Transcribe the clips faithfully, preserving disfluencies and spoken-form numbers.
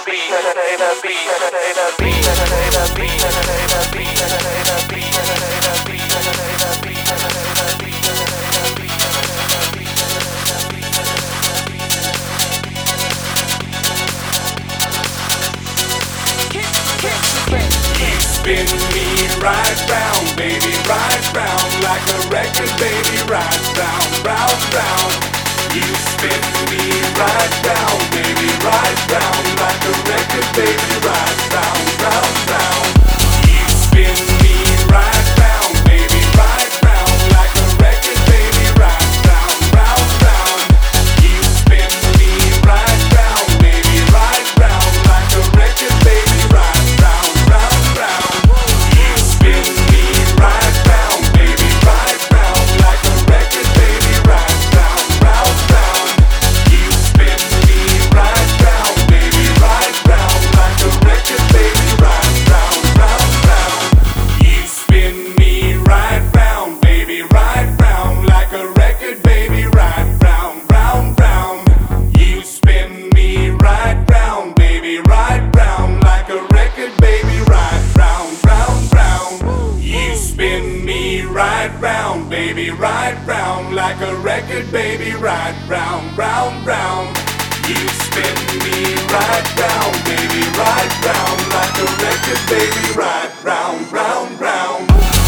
Spin me right round, baby, right round like a record, baby, right round, round, round. You spin me right round, baby, right round like a record, baby, right round, round, round. You spin me right round, baby, right round like a record, baby, right round, round, round. You spin me right round, baby, right round like a record, baby, right round, round, round. You spin me right round, baby, right round like a record, baby, right round, round, round. You spin me right round, baby, right round like a record, baby, right round, round, round. You spin me right round, baby, right round like a record, baby, right round, round, round. You spin me right round, baby, right round like a record, baby, right round, round, round. You spin me right round, baby, right round like a record, baby, right round, round, round. You spin me right round, baby, right round like a record, baby, right round, round, round.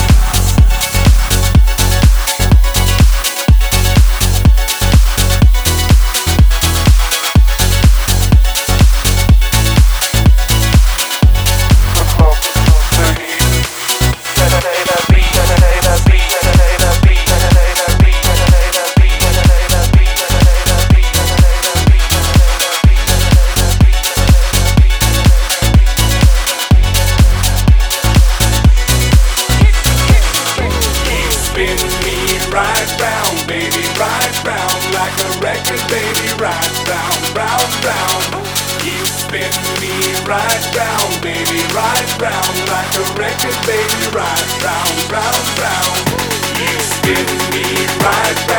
Spin me right round, baby, right round like a record, baby, right round, round, round. You spin me right round, baby, right round like a record, baby, right round, round, round. You spin me right round.